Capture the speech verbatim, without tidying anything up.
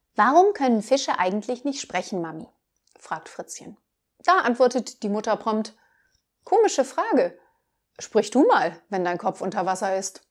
»Warum können Fische eigentlich nicht sprechen, Mami?« fragt Fritzchen. Da antwortet die Mutter prompt: »Komische Frage. Sprich du mal, wenn dein Kopf unter Wasser ist.«